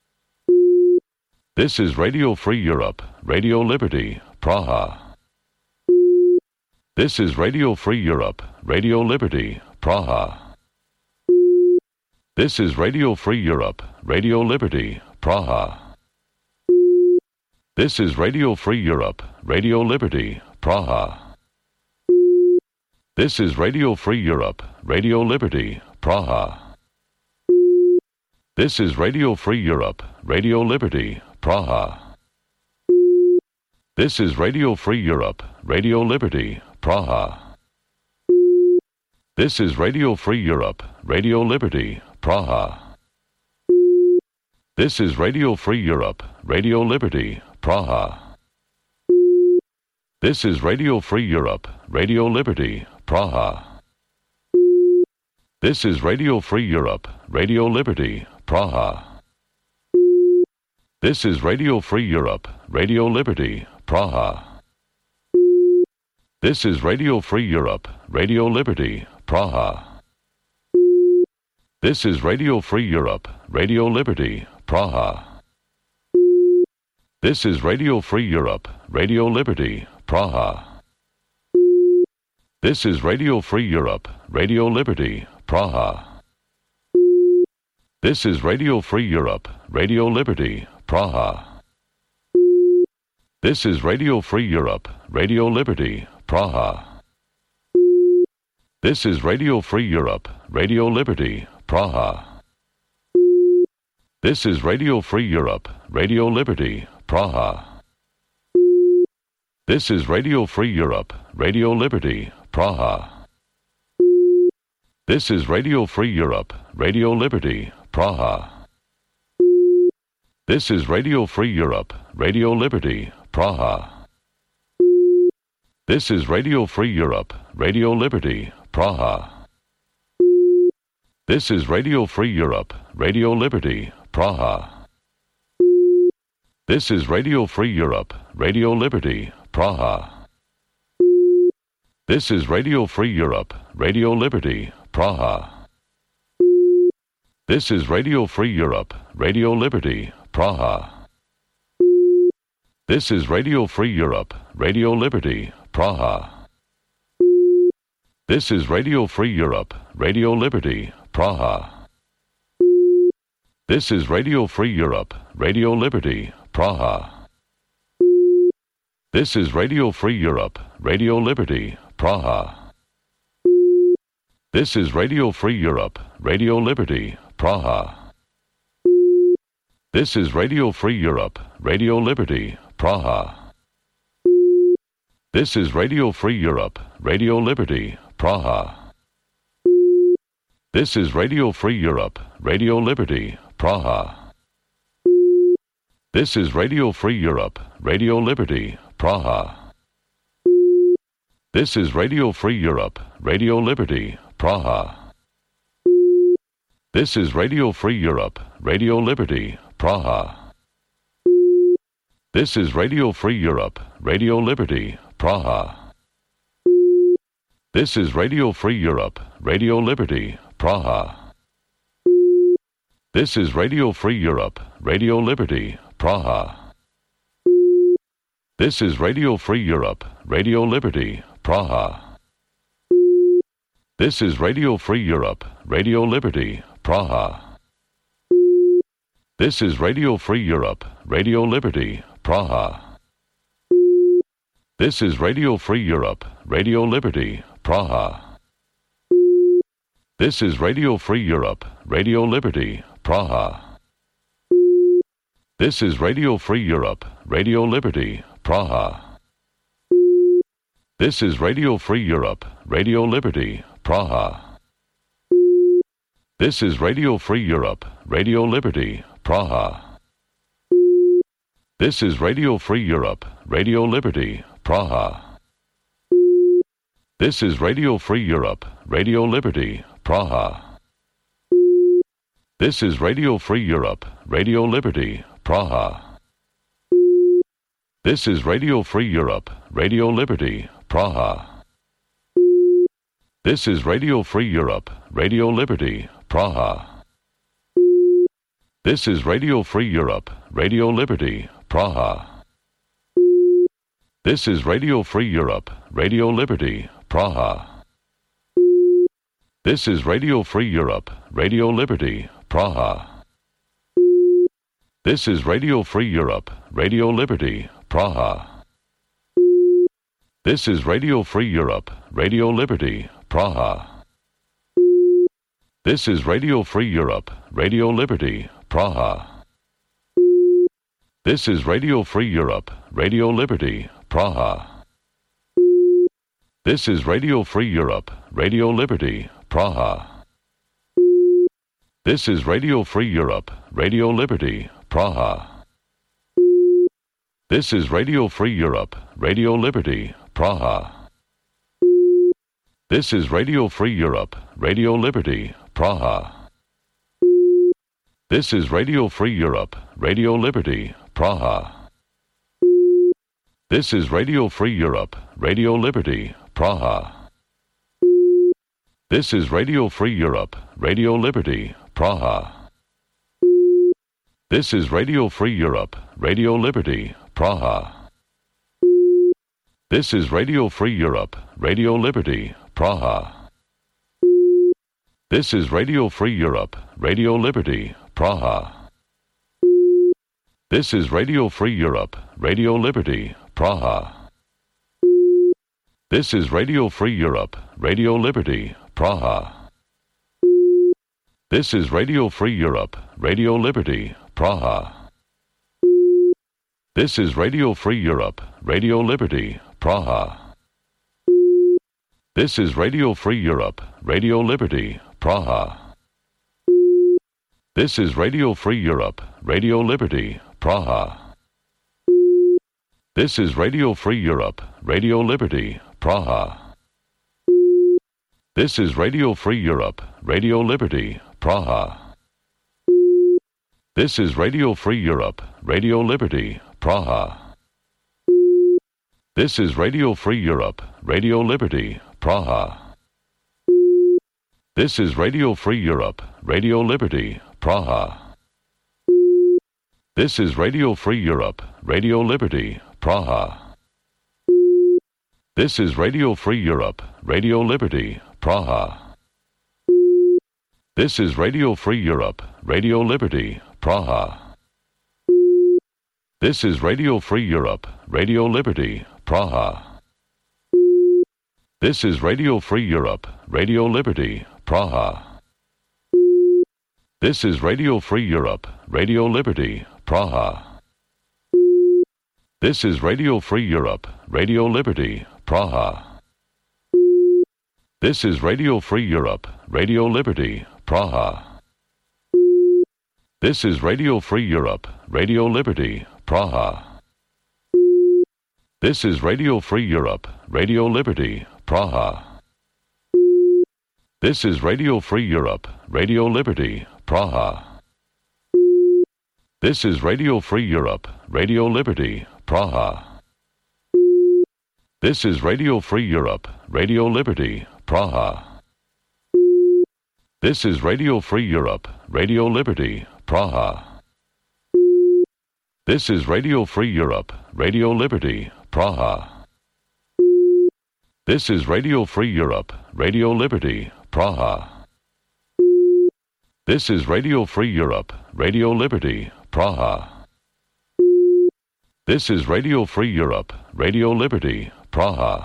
This is Radio Free Europe, Radio Liberty, Praha. This is Radio Free Europe, Radio Liberty, Praha. This is Radio Free Europe, Radio Liberty, Praha. This is Radio Free Europe, Radio Liberty, Praha. This is Radio Free Europe, Radio Liberty, Praha. This is Radio Free Europe, Radio Liberty, Praha. This is Radio Free Europe, Radio Liberty, Praha. This is Radio Free Europe, Radio Liberty, Praha. This is Radio Free Europe, Radio Liberty, Praha. This is Radio Free Europe, Radio Liberty, Praha. This is Radio Free Europe, Radio Liberty, Praha. This is Radio Free Europe, Radio Liberty, Praha. This is Radio Free Europe, Radio Liberty, Praha. This is Radio Free Europe, Radio Liberty, Praha. This is Radio Free Europe, Radio Liberty, Praha. This is Radio Free Europe, Radio Liberty, Praha. This is Radio Free Europe, Radio Liberty, Praha. This is Radio Free Europe, Radio Liberty, Praha. This is Radio Free Europe, Radio Liberty, Praha. This is Radio Free Europe, Radio Liberty, Praha. This is Radio Free Europe, Radio Liberty, Praha. This is Radio Free Europe, Radio Liberty, Praha. This is Radio Free Europe, Radio Liberty, Praha. This is Radio Free Europe, Radio Liberty, Praha. This is Radio Free Europe, Radio Liberty, Praha. This is Radio Free Europe, Radio Liberty, Praha. This is Radio Free Europe, Radio Liberty, Praha. This is Radio Free Europe, Radio Liberty, Praha. This is Radio Free Europe, Radio Liberty, Praha. This is Radio Free Europe, Radio Liberty, Praha. This is Radio Free Europe, Radio Liberty, Praha. This is Radio Free Europe, Radio Liberty, Praha. This is Radio Free Europe, Radio Liberty, Praha. This is Radio Free Europe, Radio Liberty, Praha. This is Radio Free Europe, Radio Liberty, Praha. This is Radio Free Europe, Radio Liberty, Praha. This is Radio Free Europe, Radio Liberty, Praha. This is Radio Free Europe, Radio Liberty, Praha. This is Radio Free Europe, Radio Liberty, Praha. This is Radio Free Europe, Radio Liberty, Praha. This is Radio Free Europe, Radio Liberty, Praha. This is Radio Free Europe, Radio Liberty, Praha. This is Radio Free Europe, Radio Liberty, Praha. This is Radio Free Europe, Radio Liberty, Praha. This is Radio Free Europe, Radio Liberty, Praha. This is Radio Free Europe, Radio Liberty, Praha. This is Radio Free Europe, Radio Liberty, Praha. This is Radio Free Europe, Radio Liberty, Praha. This is Radio Free Europe, Radio Liberty, Praha. This is Radio Free Europe, Radio Liberty, Praha. This is Radio Free Europe, Radio Liberty, Praha. This is Radio Free Europe, Radio Liberty, Praha. This is Radio Free Europe, Radio Liberty, Praha. This is Radio Free Europe, Radio Liberty, Praha. This is Radio Free Europe, Radio Liberty, Praha. This is Radio Free Europe, Radio Liberty, Praha. This is Radio Free Europe, Radio Liberty, Praha. This is Radio Free Europe, Radio Liberty, Praha. This is Radio Free Europe, Radio Liberty, Praha. This is Radio Free Europe, Radio Liberty, Praha. This is Radio Free Europe, Radio Liberty, Praha. This is Radio Free Europe, Radio Liberty, Praha. This is Radio Free Europe, Radio Liberty, Praha. This is Radio Free Europe, Radio Liberty, Praha. This is Radio Free Europe, Radio Liberty, Praha. This is Radio Free Europe, Radio Liberty, Praha. This is Radio Free Europe, Radio Liberty, Praha. This is Radio Free Europe, Radio Liberty, Praha. This is Radio Free Europe, Radio Liberty, Praha. This is Radio Free Europe, Radio Liberty, Praha. This is Radio Free Europe, Radio Liberty, Praha. This is Radio Free Europe, Radio Liberty, Praha. This is Radio Free Europe, Radio Liberty, Praha. This is Radio Free Europe, Radio Liberty, Praha. This is Radio Free Europe, Radio Liberty, Praha. This is Radio Free Europe, Radio Liberty, Praha. This is Radio Free Europe, Radio Liberty, Praha. This is Radio Free Europe, Radio Liberty, Praha. This is Radio Free Europe, Radio Liberty, Praha. This is Radio Free Europe, Radio Liberty, Praha. This is Radio Free Europe, Radio Liberty, Praha. This is Radio Free Europe, Radio Liberty, Praha. This is Radio Free Europe, Radio Liberty, Praha. This is Radio Free Europe, Radio Liberty, Praha. This is Radio Free Europe, Radio Liberty, Praha. This is Radio Free Europe, Radio Liberty, Praha. This is Radio Free Europe, Radio Liberty, Praha. This is Radio Free Europe, Radio Liberty, Praha. This is Radio Free Europe, Radio Liberty, Praha. This is Radio Free Europe, Radio Liberty, Praha. This is Radio Free Europe, Radio Liberty, Praha. This is Radio Free Europe, Radio Liberty, Praha. This is Radio Free Europe, Radio Liberty, Praha. This is Radio Free Europe, Radio Liberty, Praha. This is Radio Free Europe, Radio Liberty, Praha. This is Radio Free Europe, Radio Liberty, Praha. This is Radio Free Europe, Radio Liberty, Praha. This is Radio Free Europe, Radio Liberty, Praha. This is Radio Free Europe, Radio Liberty, Praha. This is Radio Free Europe, Radio Liberty, Praha. This is Radio Free Europe, Radio Liberty, Praha.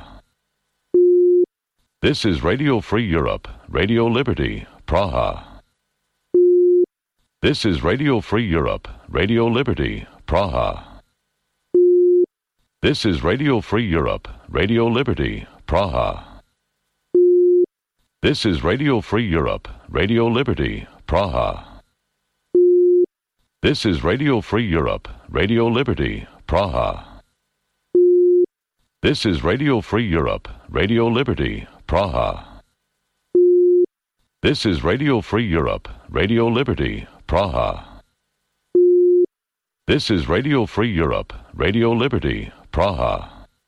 This is Radio Free Europe, Radio Liberty, Praha. This is Radio Free Europe, Radio Liberty, Praha. This is Radio Free Europe, Radio Liberty, Praha. This is Radio Free Europe, Radio Liberty, Praha. This is Radio Free Europe, Radio Liberty, Praha. This is Radio Free Europe, Radio Liberty, Praha. This is Radio Free Europe, Radio Liberty, Praha. This is Radio Free Europe, Radio Liberty, Praha.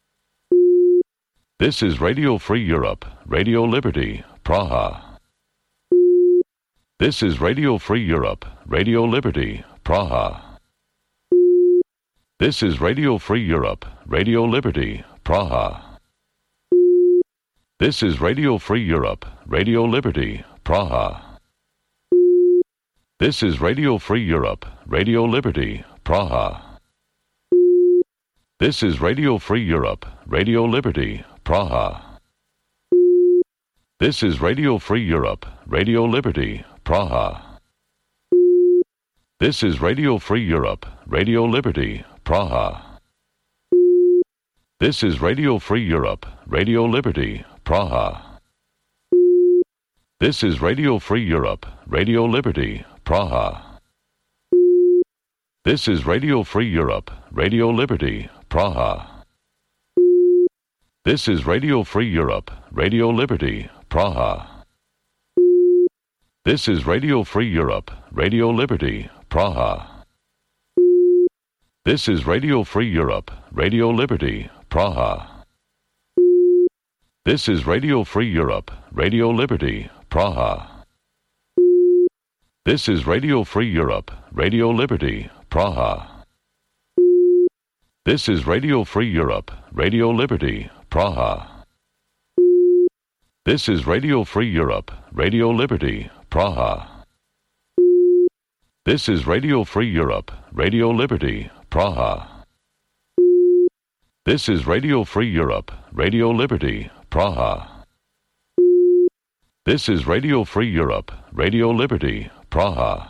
This is Radio Free Europe, Radio Liberty, Praha. This is Radio Free Europe, Radio Liberty, Praha. This is Radio Free Europe, Radio Liberty, Praha. This is Radio Free Europe, Radio Liberty, Praha. This is Radio Free Europe, Radio Liberty, Praha. This is Radio Free Europe, Radio Liberty, Praha. This is Radio Free Europe, Radio Liberty, Praha. This is Radio Free Europe, Radio Liberty, Praha. This is Radio Free Europe, Radio Liberty, Praha. This is Radio Free Europe, Radio Liberty, Praha. This is Radio Free Europe, Radio Liberty, Praha. This is Radio Free Europe, Radio Liberty, Praha. This is Radio Free Europe, Radio Liberty, Praha. This is Radio Free Europe, Radio Liberty, Praha. This is Radio Free Europe, Radio Liberty, Praha. This is Radio Free Europe, Radio Liberty, Praha. This is Radio Free Europe, Radio Liberty, Praha. This is Radio Free Europe, Radio Liberty, Praha. This is Radio Free Europe, Radio Liberty, Praha. This is Radio Free Europe, Radio Liberty, Praha. This is Radio Free Europe, Radio Liberty, Praha.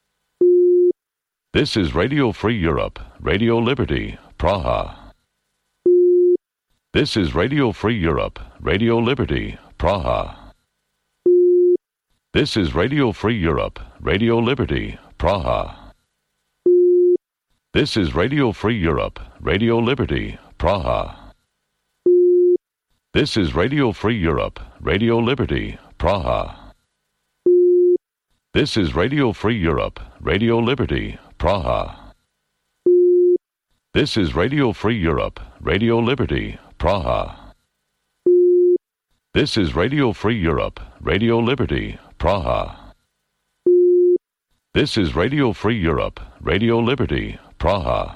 This is Radio Free Europe, Radio Liberty, Praha. This is Radio Free Europe, Radio Liberty, Praha. This is Radio Free Europe, Radio Liberty, Praha. This is Radio Free Europe, Radio Liberty, Praha. This is Radio Free Europe, Radio Liberty, Praha. This is Radio Free Europe, Radio Liberty, Praha. This is Radio Free Europe, Radio Liberty, Praha. This is Radio Free Europe, Radio Liberty, Praha. This is Radio Free Europe, Radio Liberty, Praha.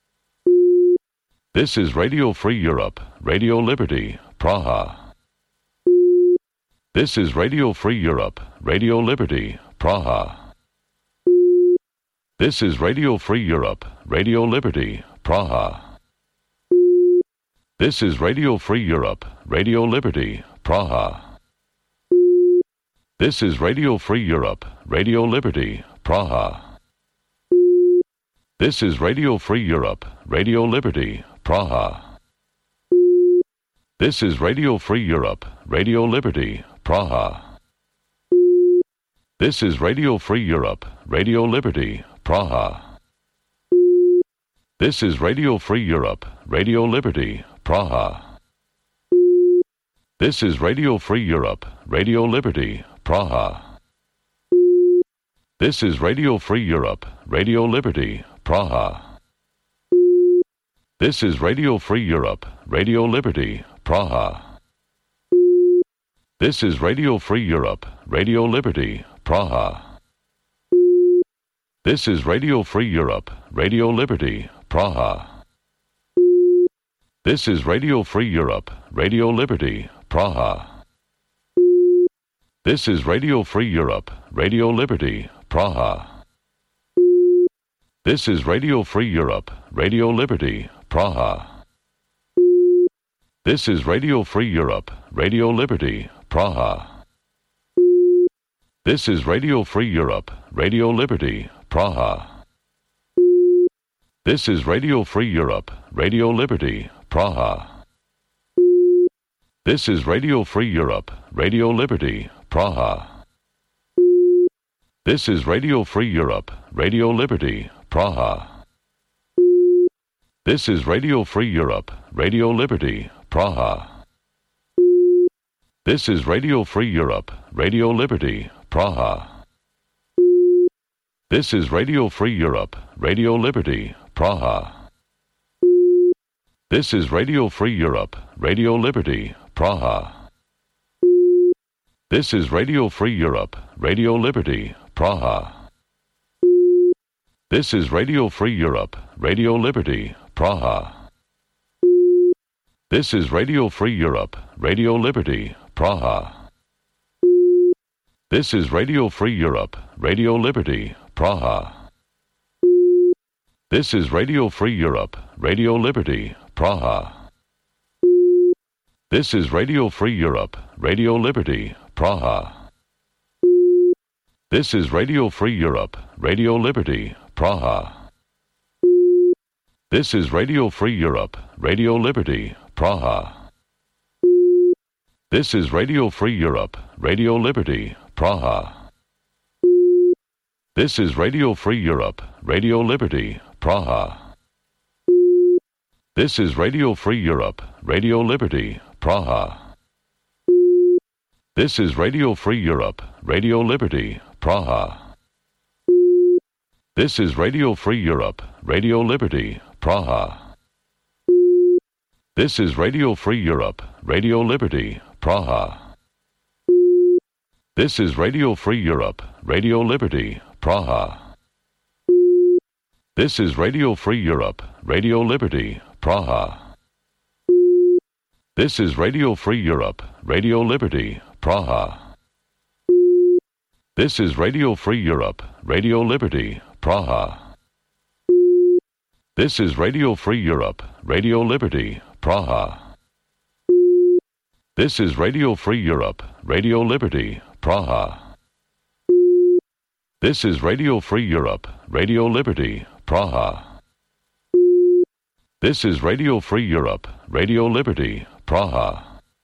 This is Radio Free Europe, Radio Liberty, Praha. This is Radio Free Europe, Radio Liberty, Praha. This is Radio Free Europe, Radio Liberty, Praha. This is Radio Free Europe, Radio Liberty, Praha. This is Radio Free Europe, Radio Liberty, Praha. This is Radio Free Europe, Radio Liberty, Praha. This is Radio Free Europe, Radio Liberty, Praha. This is Radio Free Europe, Radio Liberty, Praha. This is Radio Free Europe, Radio Liberty, Praha. This is Radio Free Europe, Radio Liberty, Praha. This is Radio Free Europe, Radio Liberty, Praha. This is Radio Free Europe, Radio Liberty, Praha. This is Radio Free Europe, Radio Liberty, Praha. This is Radio Free Europe, Radio Liberty, Praha. This is Radio Free Europe, Radio Liberty, Praha. This is Radio Free Europe, Radio Liberty, Praha. This is Radio Free Europe, Radio Liberty, Praha. This is Radio Free Europe, Radio Liberty, Praha. This is Radio Free Europe, Radio Liberty, Praha. This is Radio Free Europe, Radio Liberty, Praha. This is Radio Free Europe, Radio Liberty, Praha. This is Radio Free Europe, Radio Liberty, Praha. This is Radio Free Europe, Radio Liberty, Praha. This is Radio Free Europe, Radio Liberty, Praha. This is Radio Free Europe, Radio Liberty, Praha. This is Radio Free Europe, Radio Liberty, Praha. This is Radio Free Europe, Radio Liberty, Praha. This is Radio Free Europe, Radio Liberty, Praha. This is Radio Free Europe, Radio Liberty, Praha. This is Radio Free Europe, Radio Liberty, Praha. This is Radio Free Europe, Radio Liberty, Praha. This is Radio Free Europe, Radio Liberty, Praha. This is Radio Free Europe, Radio Liberty, Praha. This is Radio Free Europe, Radio Liberty, Praha. This is Radio Free Europe, Radio Liberty, Praha. This is Radio Free Europe, Radio Liberty, Praha. This is Radio Free Europe, Radio Liberty, Praha. This is Radio Free Europe, Radio Liberty, Praha. This is Radio Free Europe, Radio Liberty, Praha. This is Radio Free Europe, Radio Liberty, Praha. This is Radio Free Europe, Radio Liberty, Praha. This is Radio Free Europe, Radio Liberty, Praha. This is Radio Free Europe, Radio Liberty, Praha. This is Radio Free Europe, Radio Liberty, Praha. This is Radio Free Europe, Radio Liberty, Praha. This is Radio Free Europe, Radio Liberty, Praha. This is Radio Free Europe, Radio Liberty, Praha. This is Radio Free Europe, Radio Liberty, Praha.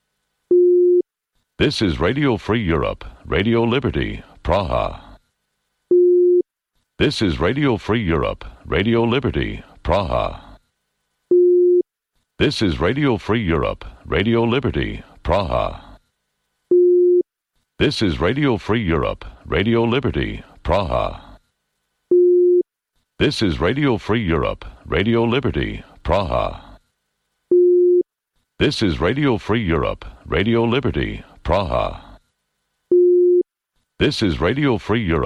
This is Radio Free Europe, Radio Liberty, Praha. This is Radio Free Europe, Radio Liberty, Praha. This is Radio Free Europe, Radio Liberty, Praha. This is Radio Free Europe, Radio Liberty, Praha. This is Radio Free Europe, Radio Liberty, Praha. This is Radio Free Europe, Radio Liberty, Praha. This is Radio Free Europe.